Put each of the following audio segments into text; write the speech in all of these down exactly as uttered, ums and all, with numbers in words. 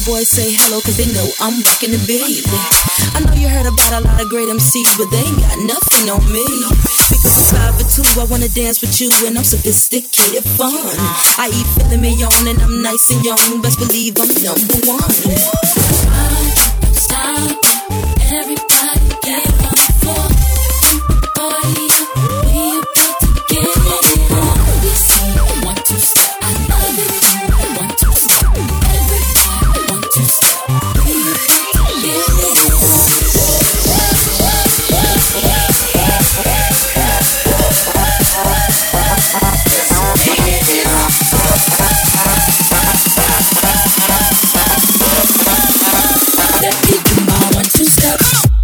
boys say hello cause they know I'm rocking the baby. I know you heard about a lot of great M Cs, but they ain't got nothing on me. Because five for two, I wanna dance with you, and I'm sophisticated fun. I eat filet mignon and I'm nice and young. Best believe I'm number one. Stop, everybody get on the floor. Party up, we about to get it on. You see, one, two, step, I love it. One, two, step, everybody, one, two, step. We about to get it on. Let me do my one, two, step.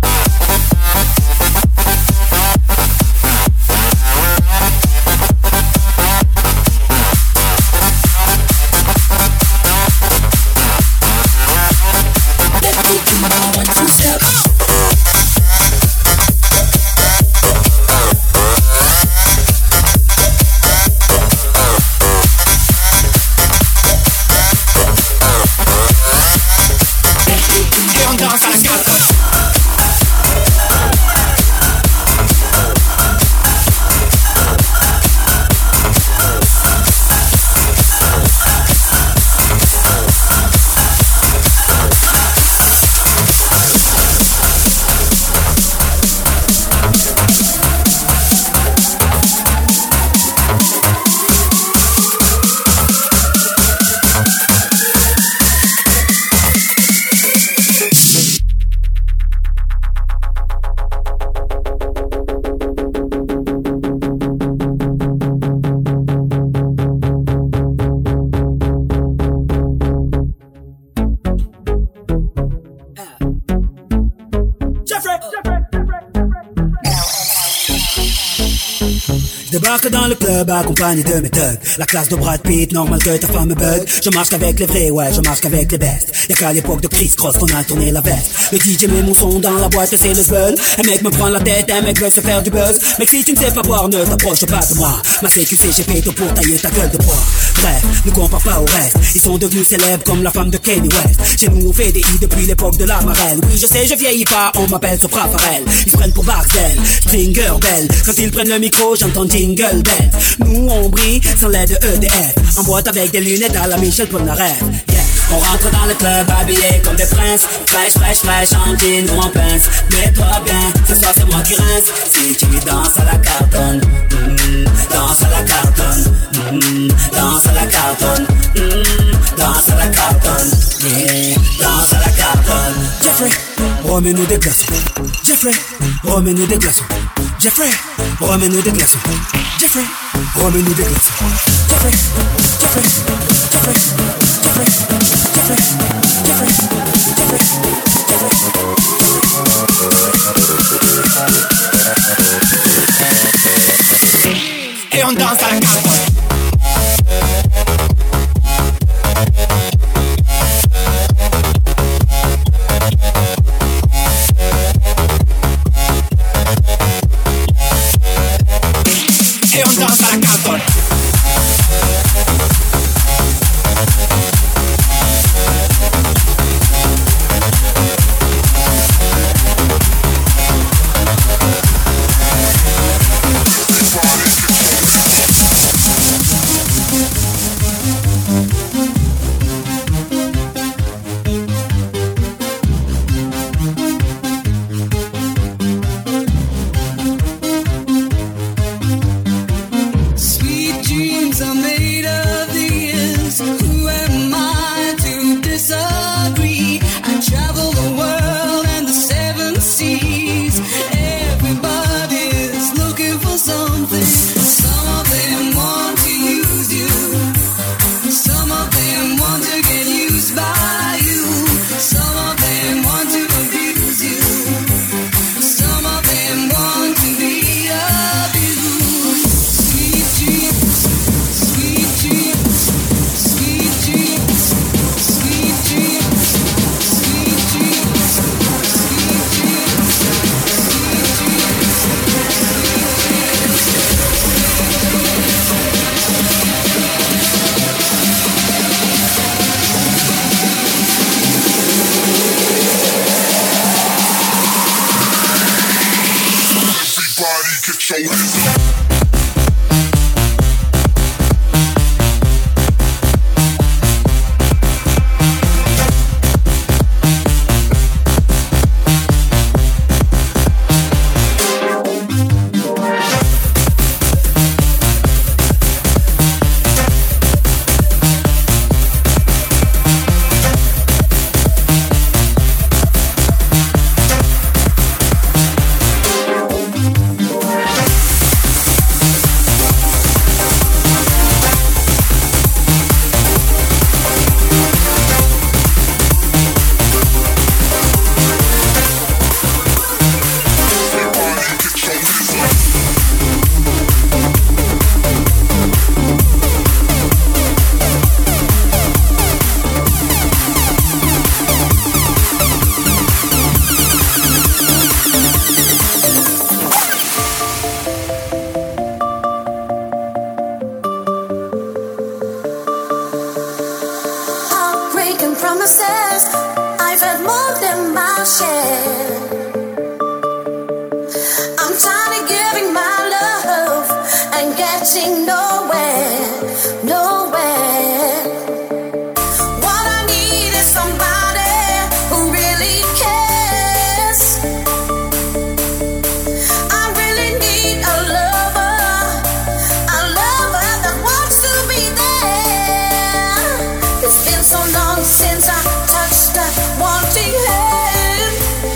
Débarque dans le club accompagné de mes thugs. La classe de Brad Pitt, normal que ta femme me bug. Je marche qu'avec les vrais, ouais, je marche qu'avec les bestes. Y'a qu'à l'époque de Chris Cross qu'on a tourné la veste. Le D J met mon son dans la boîte et c'est le buzz. Un mec me prend la tête, un mec veut se faire du buzz. Mec si tu ne sais pas boire, ne t'approche pas de moi. Ma C Q C, j'ai fait tout pour tailler ta gueule de bois. Bref, ne compare pas au reste. Ils sont devenus célèbres comme la femme de Kanye West. Chez nous on fait des i depuis l'époque de la marelle. Oui je sais je vieillis pas, on m'appelle Sopra Farel. Ils se prennent pour Barcel, Stringer Bell. Quand ils prennent le micro, j'entends Jingle Bell. Nous on brille sans l'aide de E D F. En boîte avec des lunettes à la Michel Polnareff. Yeah. On rentre dans le club habillé comme des princes. Fraîche, fraîche, fraîche, en jean ou en pince. Mets-toi bien, ce soir c'est moi qui rince. Si tu danses à la cartonne, mm, danse à la cartonne, mm, danse à la cartonne, mm, danse à la cartonne, yeah, danse à la cartonne. Jeffrey, remets-nous des glaçons. Jeffrey, remets-nous des glaçons. Jeffrey, remets-nous des glaçons. Jeffrey, remets-nous des glaçons. Jeffrey, Jeffrey, Jeffrey, Jeffrey, Jeffrey, Jeffrey, Jeffrey, Jeffrey. Et on danse à la carte. Et on danse à la carte. promises, I've had more than my share. I'm tired of giving my love and getting nowhere, nowhere. What I need is somebody who really cares. I really need a lover, a lover that wants to be there. It's been so long since I touched that wanting hand.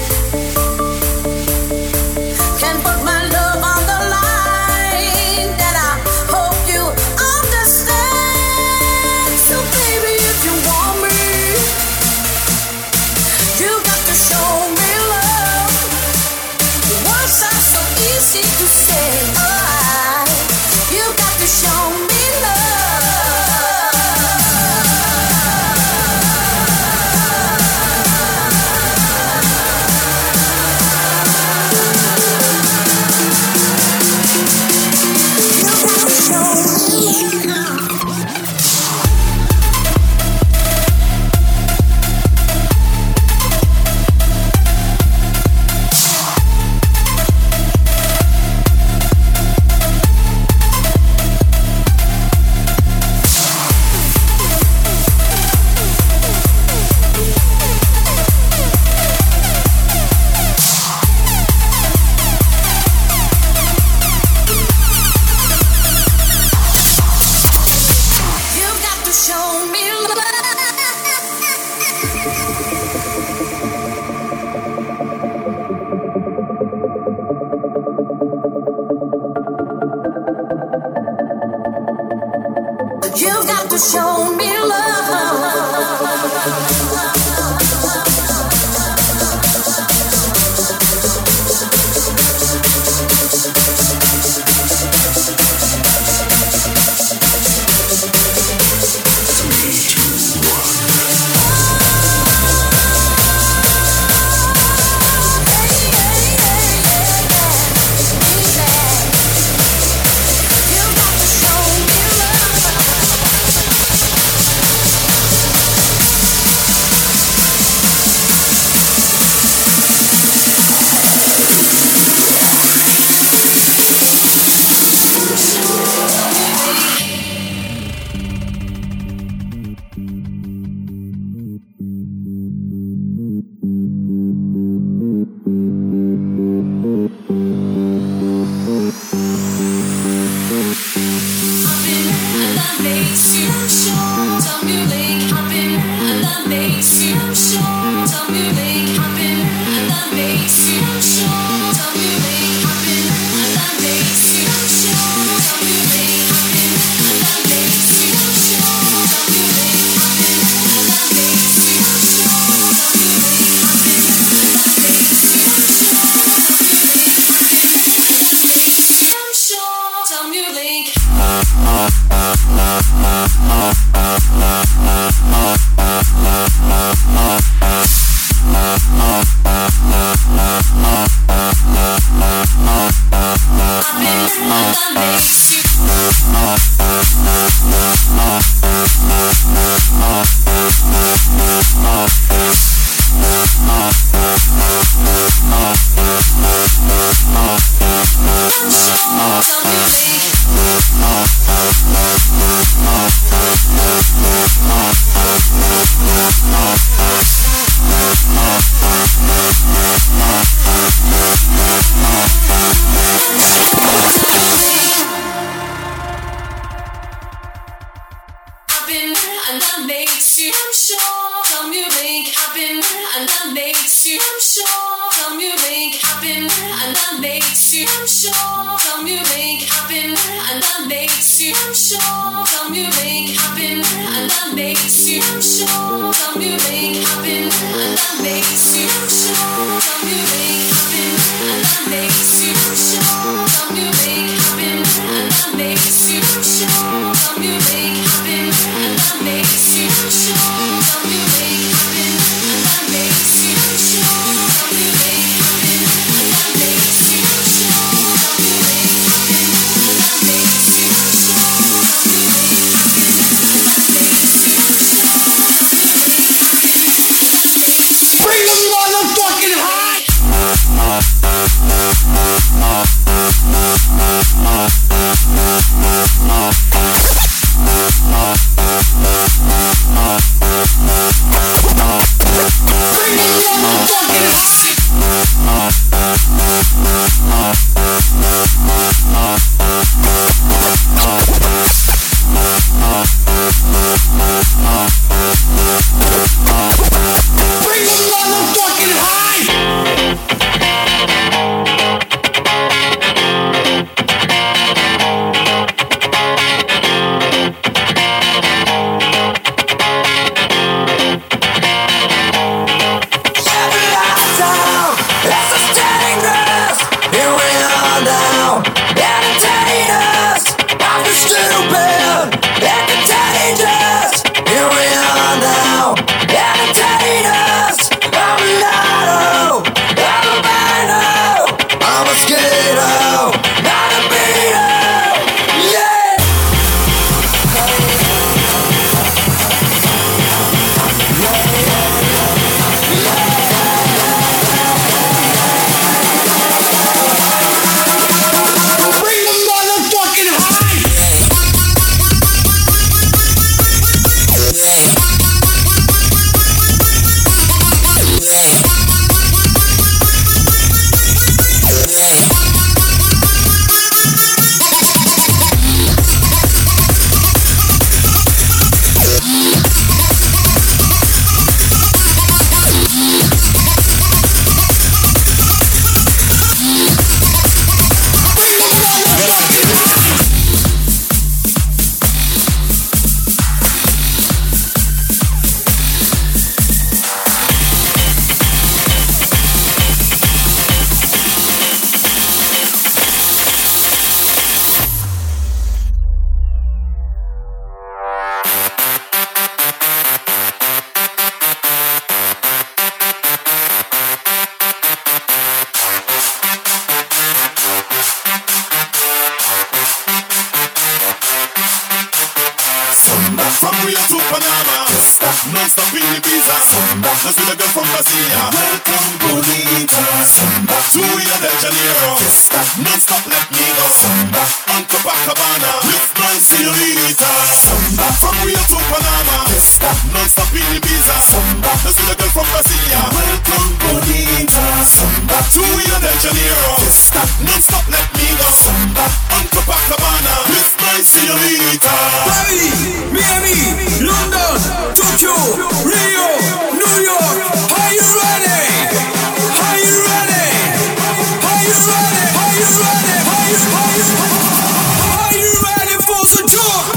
Can't put my love on the line, that I hope you understand. So baby, if you want me, you got to show me love. The words are so easy to say. Oh, you got to show me love. You got to show me love. You've got to show me love. You've got to show me love. Non-stop in Ibiza. Just with a girl from Brasilia. Welcome, bonita. To Rio de Janeiro. Non-stop, let me go. On Copacabana with my señorita. From Rio to Panama. Non-stop in Ibiza. Just with a girl from Brasilia. Welcome, bonita. To Rio de Janeiro. Non-stop, let me go. On Copacabana with my señorita. Paris, Miami, London, Tokyo, Rio, New York. Are you ready? Are you ready? Are you ready? Are you ready? Are you are you are you ready for the tour?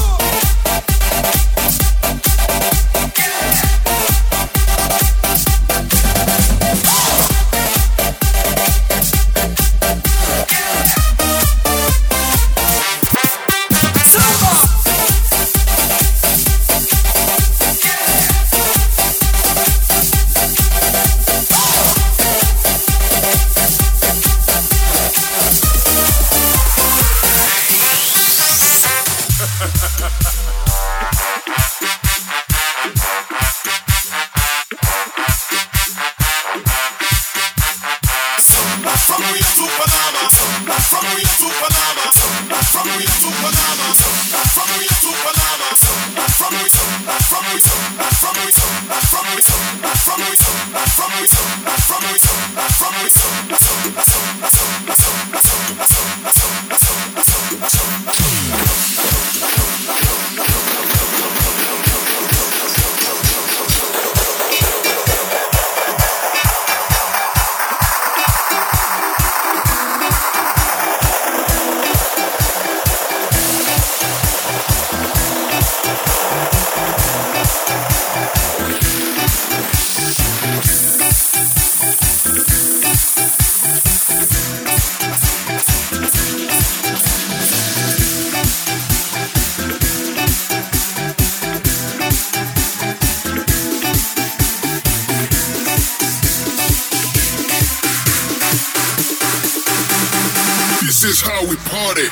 This is how we party.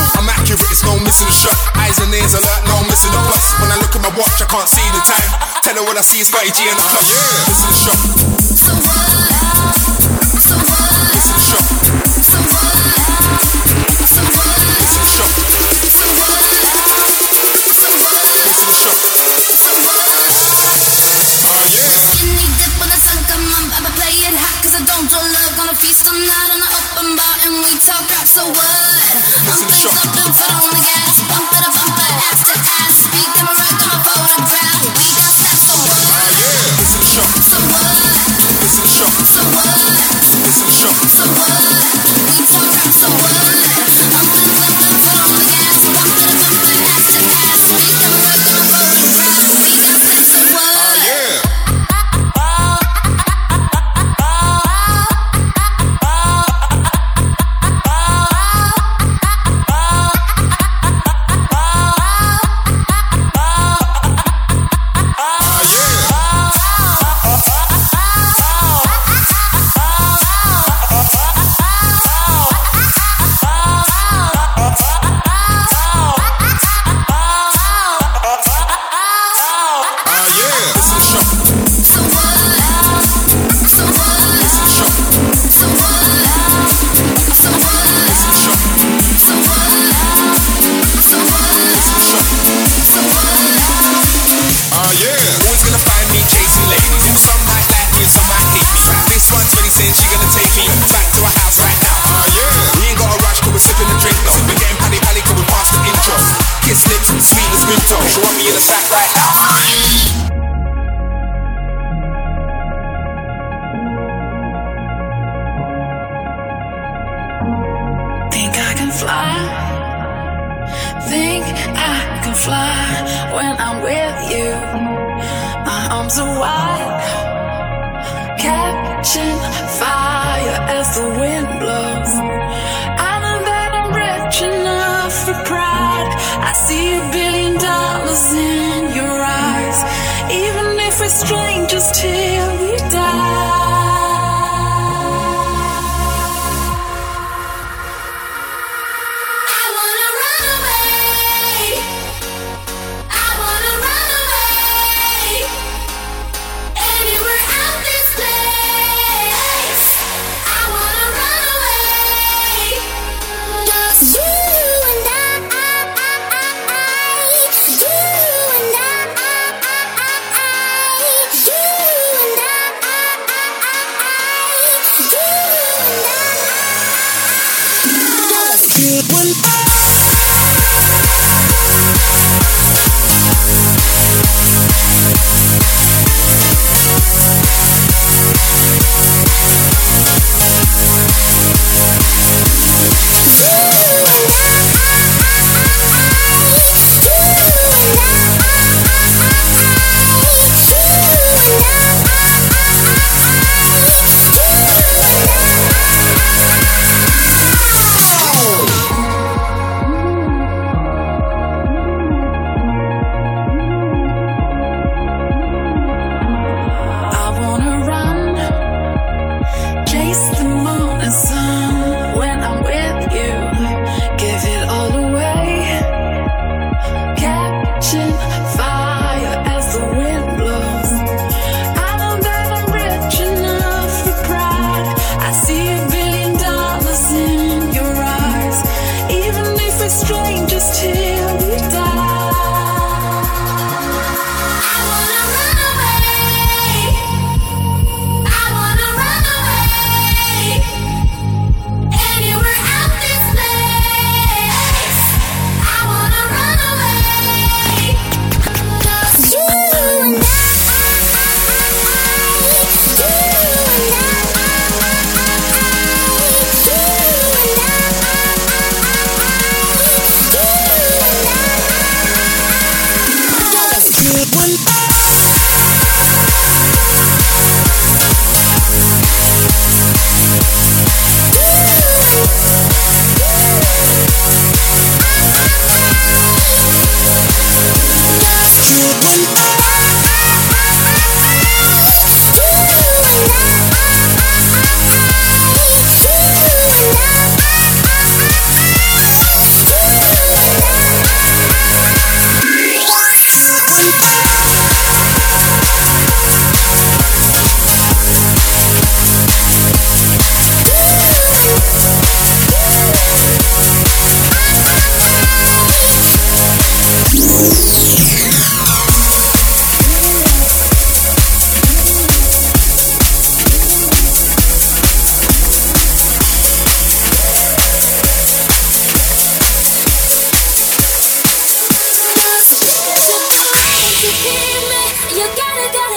Watch, I can't see the time. Tell know when I see Scotty G in the club. Yeah. This is the shot. So what? So what? This is the shot. So what? So what? This is the shot. So what? So what? This is the shot. So what? Ah yeah. Skinny dip when the sun come up, I'ma play it hot 'cause I don't do love. Gonna feast all night on the open bar and we talk rap. So what? This is the shot. Up and foot on the gas, bump to the bumper, ass to ass. Speak on my rock, on my photograph. We got that. So what? Ah yeah. This is the shot. So what? This is the shot. So what? This is the shot. So what? We talk rap. So what? Up and up and foot on the gas, bump to the bumper, ass to ass. Speak on my rock, on my photograph. We got that. So what? Ah yeah.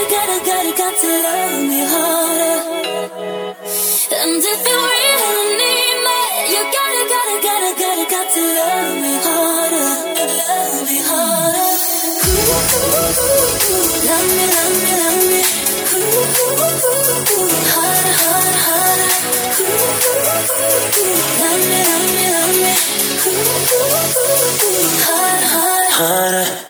gotta, gotta, gotta, got to love me harder. And if you really need me, you gotta, gotta, gotta, gotta, got to love me harder. Love me harder. Ooh, ooh, ooh, ooh. Love me, love me, love me. Ooh, ooh, ooh, ooh. Harder, harder, harder. Ooh, ooh, ooh, ooh. Love me, love me, love me. Ooh, ooh, ooh, ooh. Harder, harder, harder.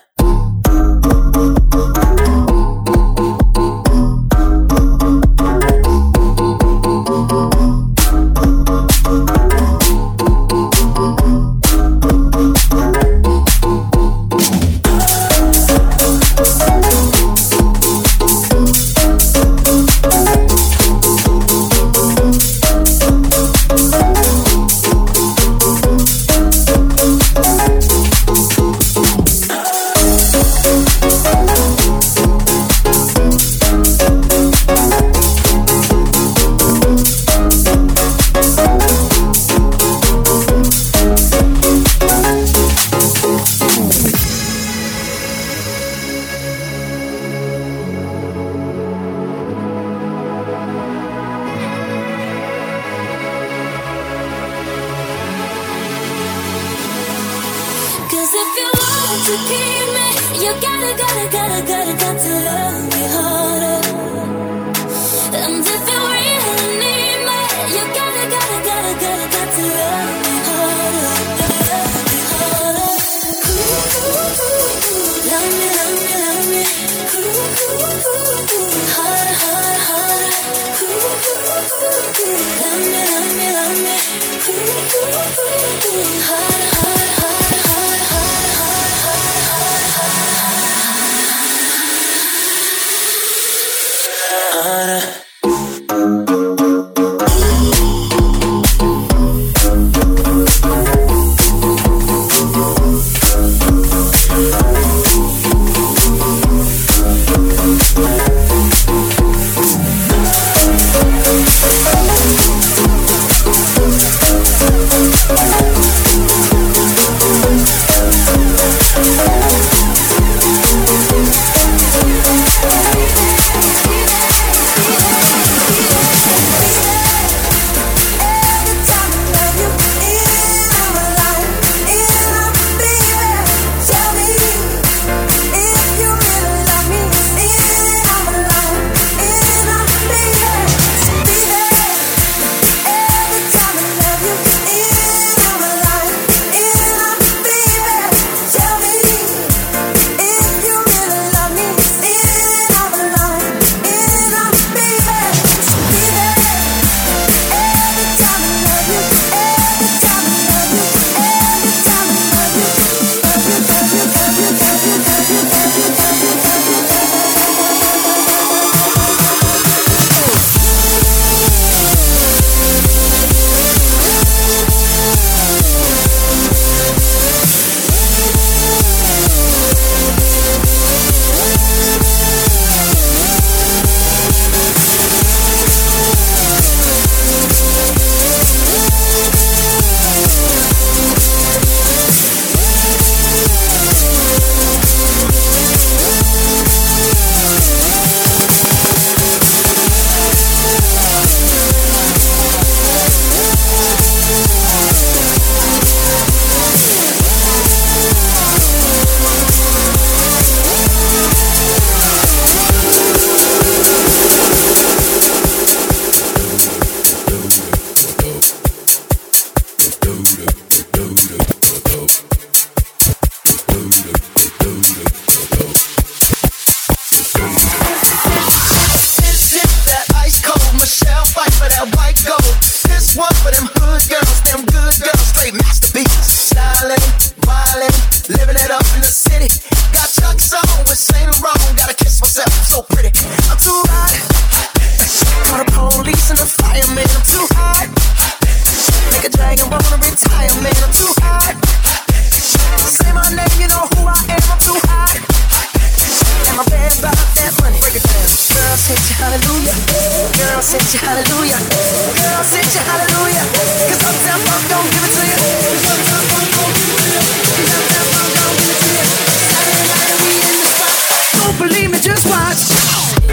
sent you hallelujah. Girl, I sent you hallelujah. Cause Uptown Funk don't give it to you. Cause Uptown Funk don't give it to you. Cause Uptown Funk don't give it to you. Saturday night and we in the spot. Don't believe me, just watch.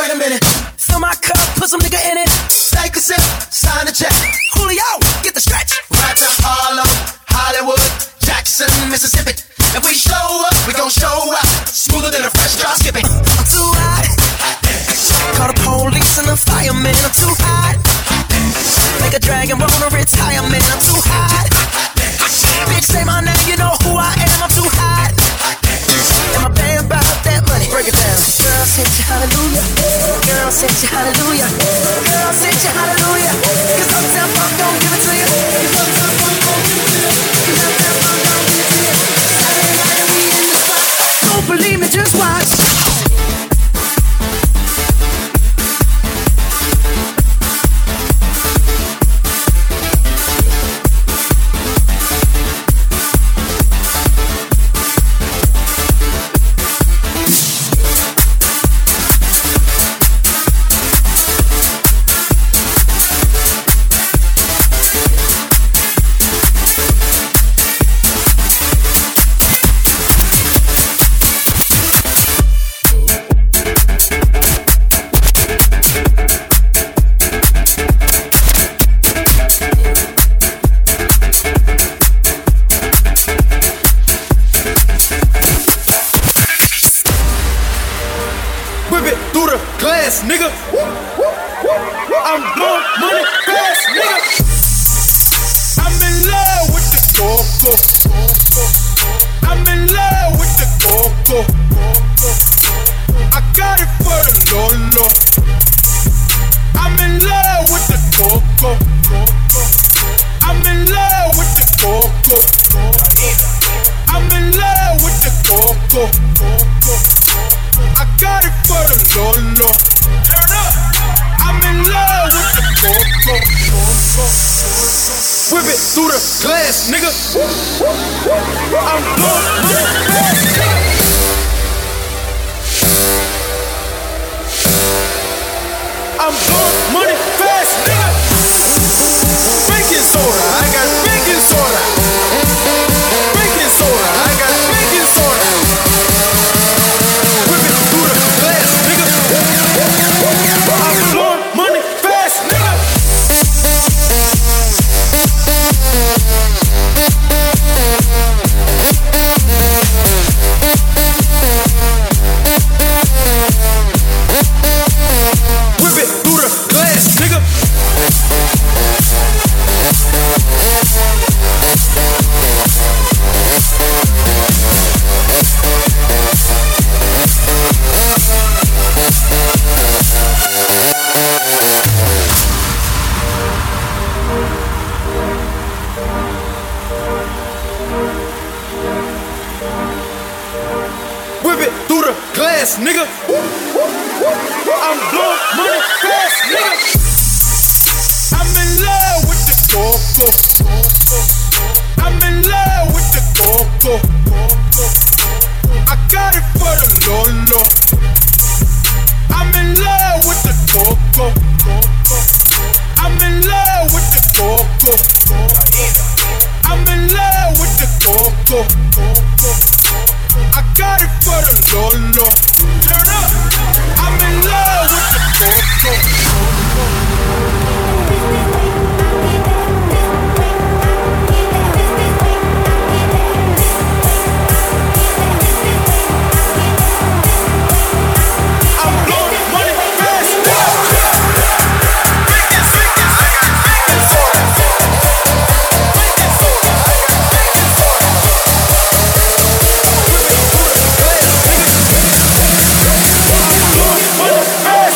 Wait a minute. Fill my cup, put some nigga in it. Take a sip, sign the check. Julio, get the stretch. Right to Harlem, Hollywood, Jackson, Mississippi. If we show up, we gon' show out. Smoother than a fresh drop skipping. I'm too hot. Call the police and the fireman. I'm too hot. Make a dragon roll to retirement. I'm too hot. Bitch, say my name, you know who I am. I'm too hot. And my band about that money. Break it down. Girl, sent you hallelujah. Girl, sent you hallelujah. Girl, sent you hallelujah. Cause Uptown Funk don't give it to you. Cause Uptown Funk don't give it to you. Cause Uptown Funk don't give it to you. Saturday night and we in the spot. Don't believe me, just watch. Nigga, I'm blowing money fast, nigga. I'm in love with the coco. I'm in love with the coco. I got it for the Lolo. I'm in love with the coco. I'm in love with the coco. I'm in love with the coco. I got it for the Lolo. I'm in love with the coco. Whip it through the glass, nigga. I'm blowing money fast, nigga. I'm blowing money fast, nigga. Baking soda, I got baking soda. Baking soda, I got baking soda. Whip it through the glass, nigga. I'm blowing money fast, nigga. Whip it through the glass, nigga. Whip it through the glass, nigga. I'm blowing money fast, nigga. I'm in love with the coco. I'm in love with the coco. I got it for the Lolo. I'm in love with the coco. I'm in love with the coco. I'm in love with the coco. I got it for the Lolo. Turn up. I'm in love with the coco. I'm blowing money fast, nigga. Baking soda, baking soda, baking soda, baking soda. Whip it through the glass, nigga. I'm blowing money fast.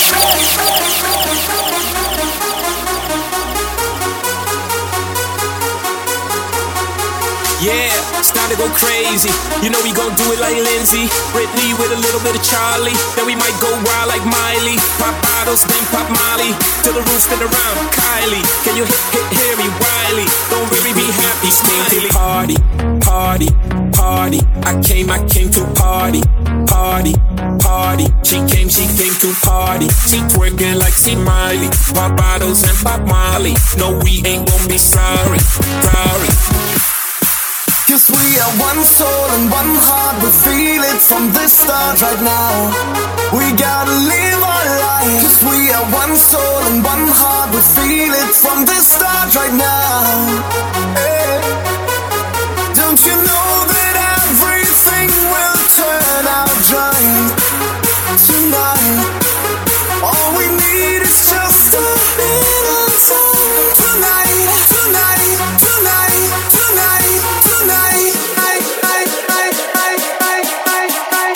Yeah, it's time to go crazy. You know we gon' do it like Lindsay, Britney with a little bit of Charlie. Then we might go wild like Miley. Pop bottles, then pop Molly. Till the roof spin around, Kylie. Can you hit, hit, hear me, Wiley? Don't really be happy, smiley. Party, party, party. I came, I came to party, party, party. She came, she came to party. She twerking like she Miley. Pop bottles and pop Molly. No, we ain't gon' be sorry, sorry. Cause we are one soul and one heart, we feel it from the start right now. We gotta live our life. Cause we are one soul and one heart, we feel it from the start right now. Hey. Don't you know that everything will turn out right tonight? All we need is just a little time tonight, tonight, tonight, tonight, tonight. I, I, I, I, I, I, I,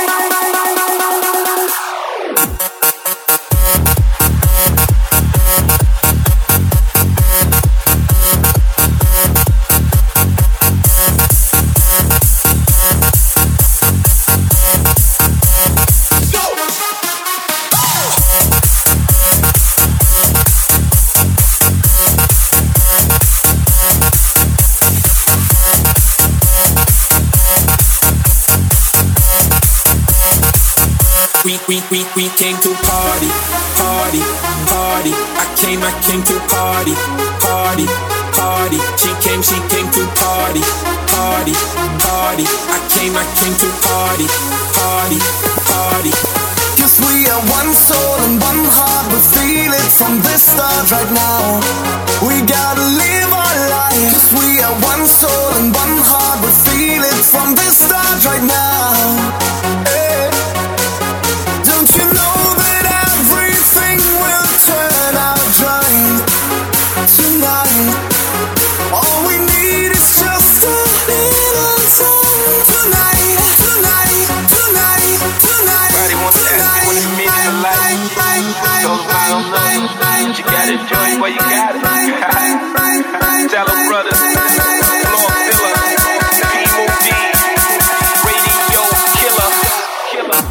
We, we, we, we came to party, party, party. I came, I came to party, party, party. She came, she came to party, party, party. I came, I came to party, party, party. Cause we are one soul and one heart, we feel it from the start right now. We gotta live our life. Cause we are one soul and one heart, we feel it from the start right now. Hey. Don't you know that everything will turn out right tonight? All we need is just a little time tonight, tonight, tonight, tonight. Everybody wants to ask you what it means in life. So I don't know. You gotta enjoy it while you got it. Tell them brothers, Lord Filler, P O D, Radio Killer, Killer.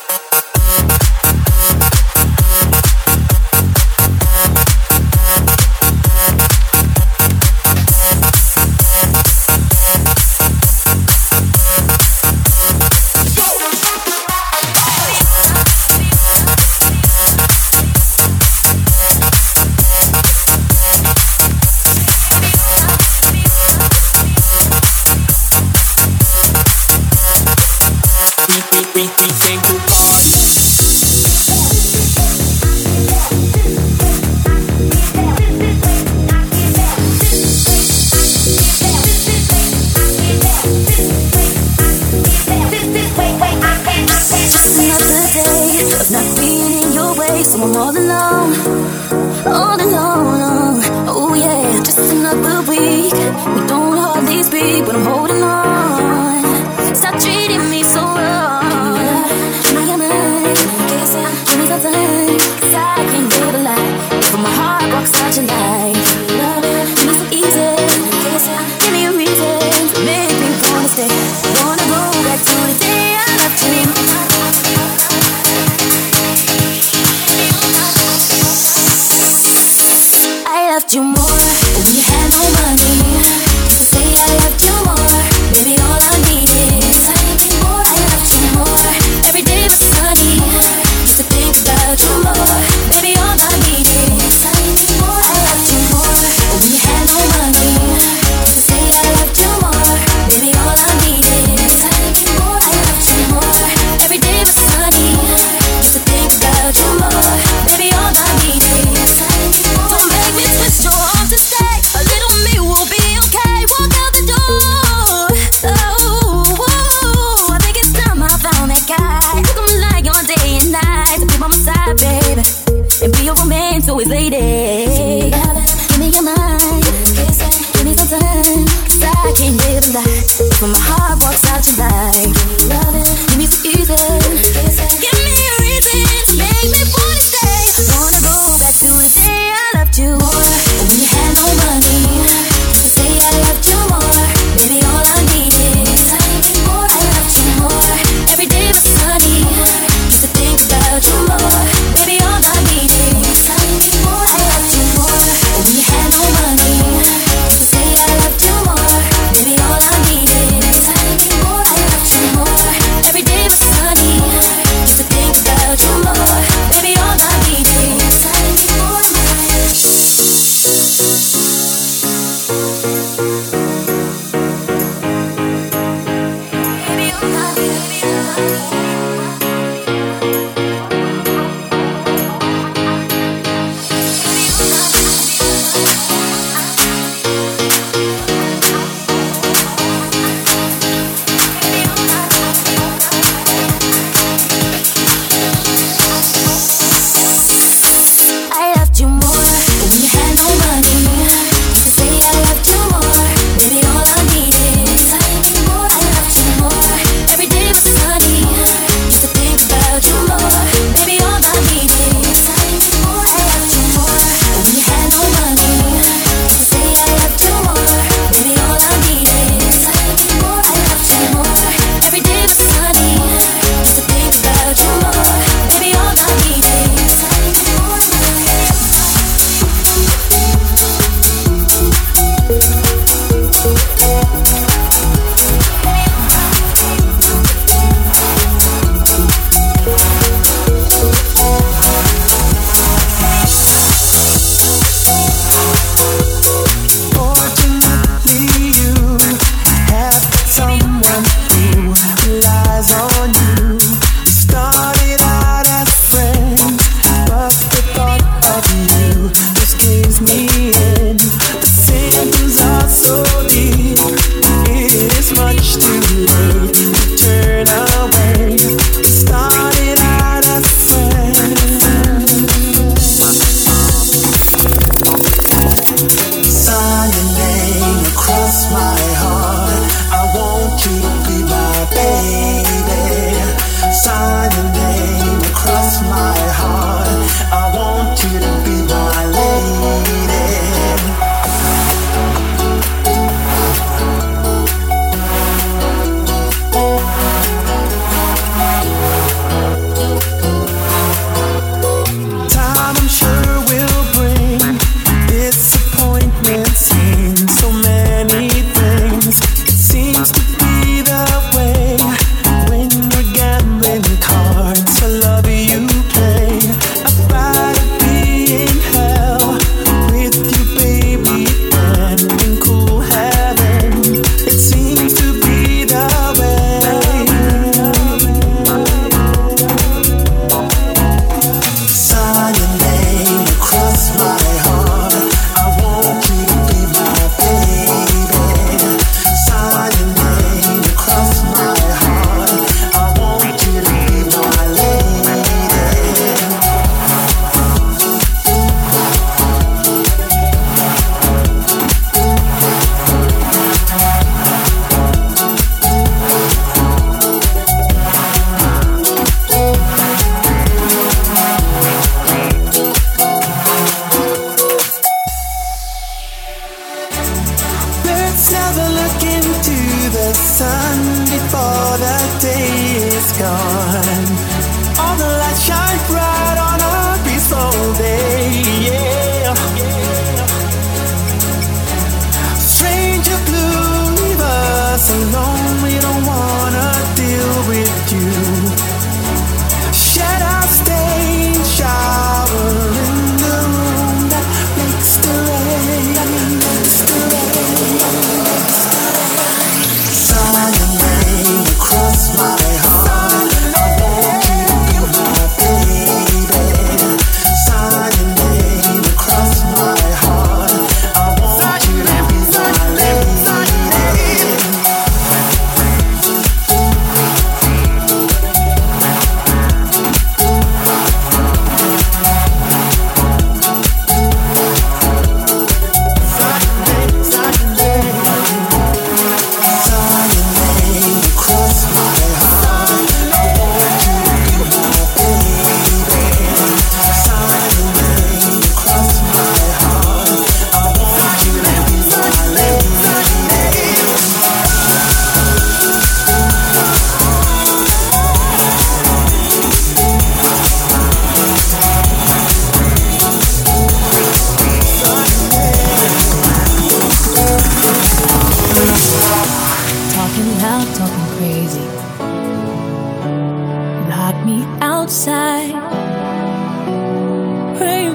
We, we, we came to party. Just another day of not being in your way, so I'm all alone, all alone. Oh yeah, just another week. We don't hardly speak, but I'm holding on. Stop treating me so wrong. Give me your mind, give me something, 'cause I can't live a life from my heart walks out your light. Give me some easy, give me a reason to make me wanna stay. Wanna go back to the day I loved you. I loved you more when you had no money. Say I loved you more, baby, all I needed is something more. I loved you more, every day was sunny. Used to think about you more, baby, all I needed is something more. I loved you more when you had no money. Say I loved you more, baby, all I needed is something more. I loved you more, every day was sunny. Used to think about you more, baby, all I needed is something more. Don't make me twist your arm to stay. A little me will be okay. Walk out the door. Oh, whoa. I think it's time I found that guy. Look at me like on day and night. To be by my side, baby, and be your romance always, lady. Give me your mind, give me some time, 'cause I can't live a life when my heart walks out your light. Give me some easy, give me a reason to make me wanna stay. Wanna go back to the day I loved you more when you had no money. Say I loved you more, baby, all I needed is something more. I loved you more, every day was sunny. Used to think about you more, baby, all I needed is something more. I loved you more when you had no money. Say I loved you more, baby, all I needed is something more. I loved you more, every day was sunny. Used to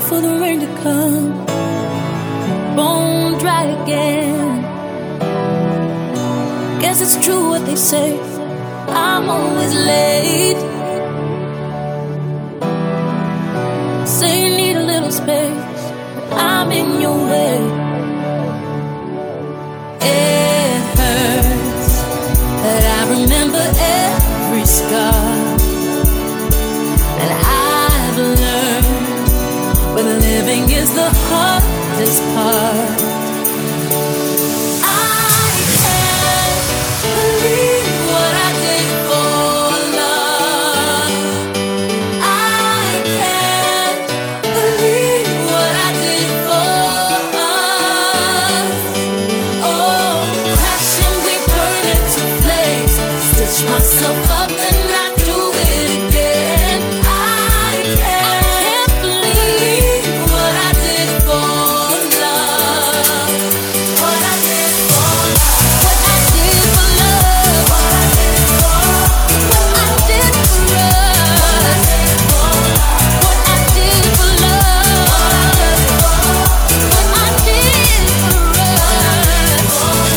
for the rain to come, bone dry again. Guess it's true what they say, I'm always late. Say you need a little space, but I'm in your way. It hurts, but I remember every scar. And I've learned when living is the hardest part. I can't believe what I did for love. I can't believe what I did for us. Oh, crashing, we burn into flames. Stitch myself up and I do it again. I can't believe what I did for love. What I did for love. What I did for love. What I did for love. What I did for us. What I did for love. What I did for us.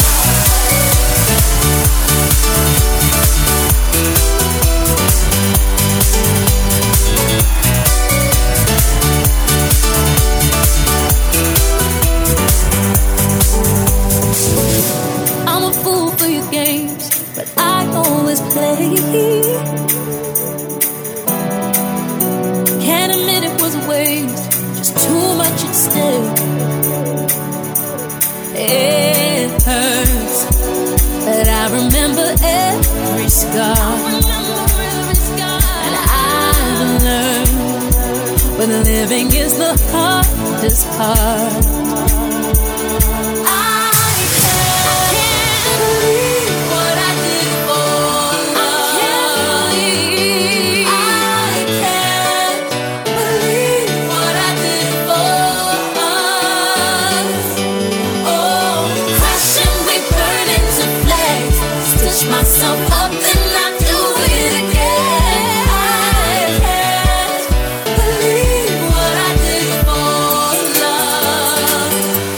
I'm a fool for your games, but I always play. Can't admit it was a waste, just too much at stake. It hurts, but I remember every scar. And I've learned when living is the hardest part. I can't believe what I did for love. I can't believe what I did for us. Oh, crashing, we burn into flames. Stitch myself up and I do it again. I can't believe what I did for love.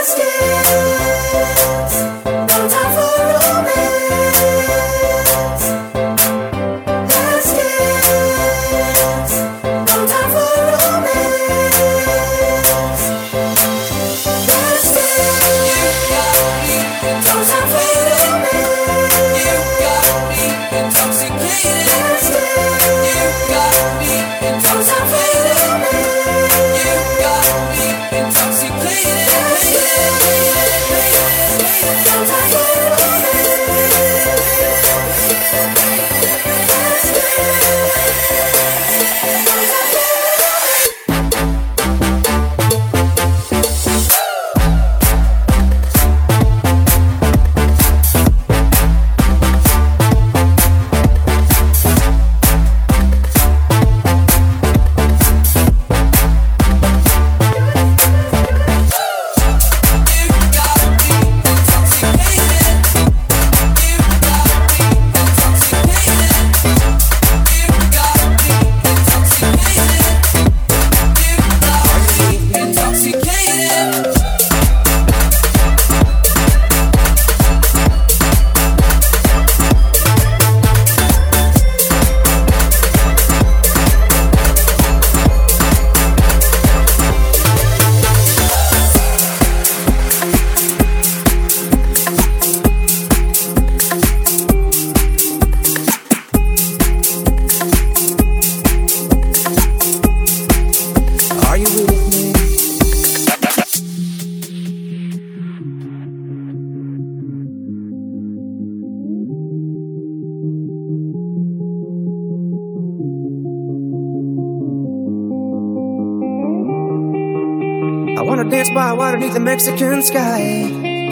Dance by water beneath the Mexican sky.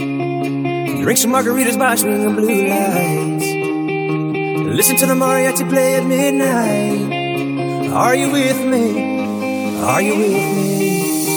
Drink some margaritas by swinging blue lights. Listen to the mariachi play at midnight. Are you with me? Are you with me?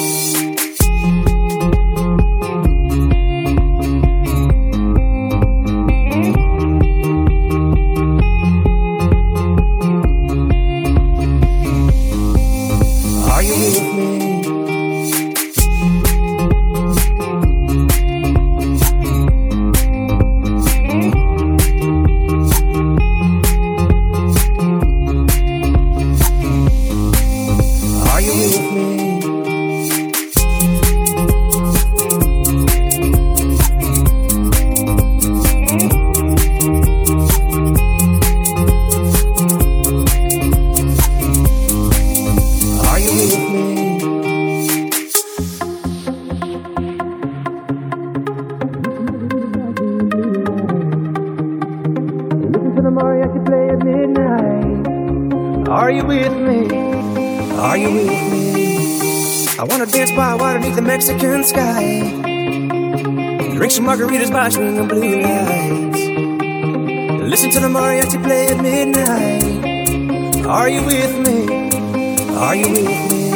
Are you with me? Are you with me? I wanna dance by water beneath the Mexican sky. Drink some margaritas by swinging blue lights. Listen to the mariachi play at midnight. Are you with me? Are you with me?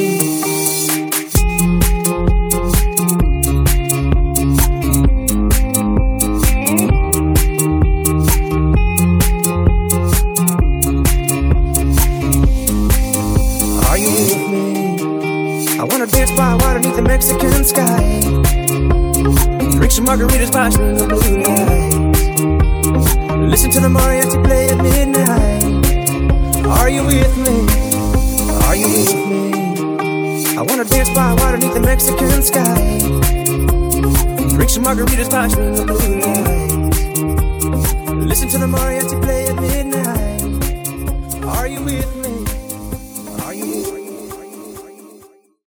The Mexican sky. Drink some margaritas by swinging blue lights. Listen to the mariachi play at midnight. Are you with me? Are you with me? I wanna dance by water beneath the Mexican sky. Drink some margaritas by swinging blue lights. Listen to the mariachi play at midnight.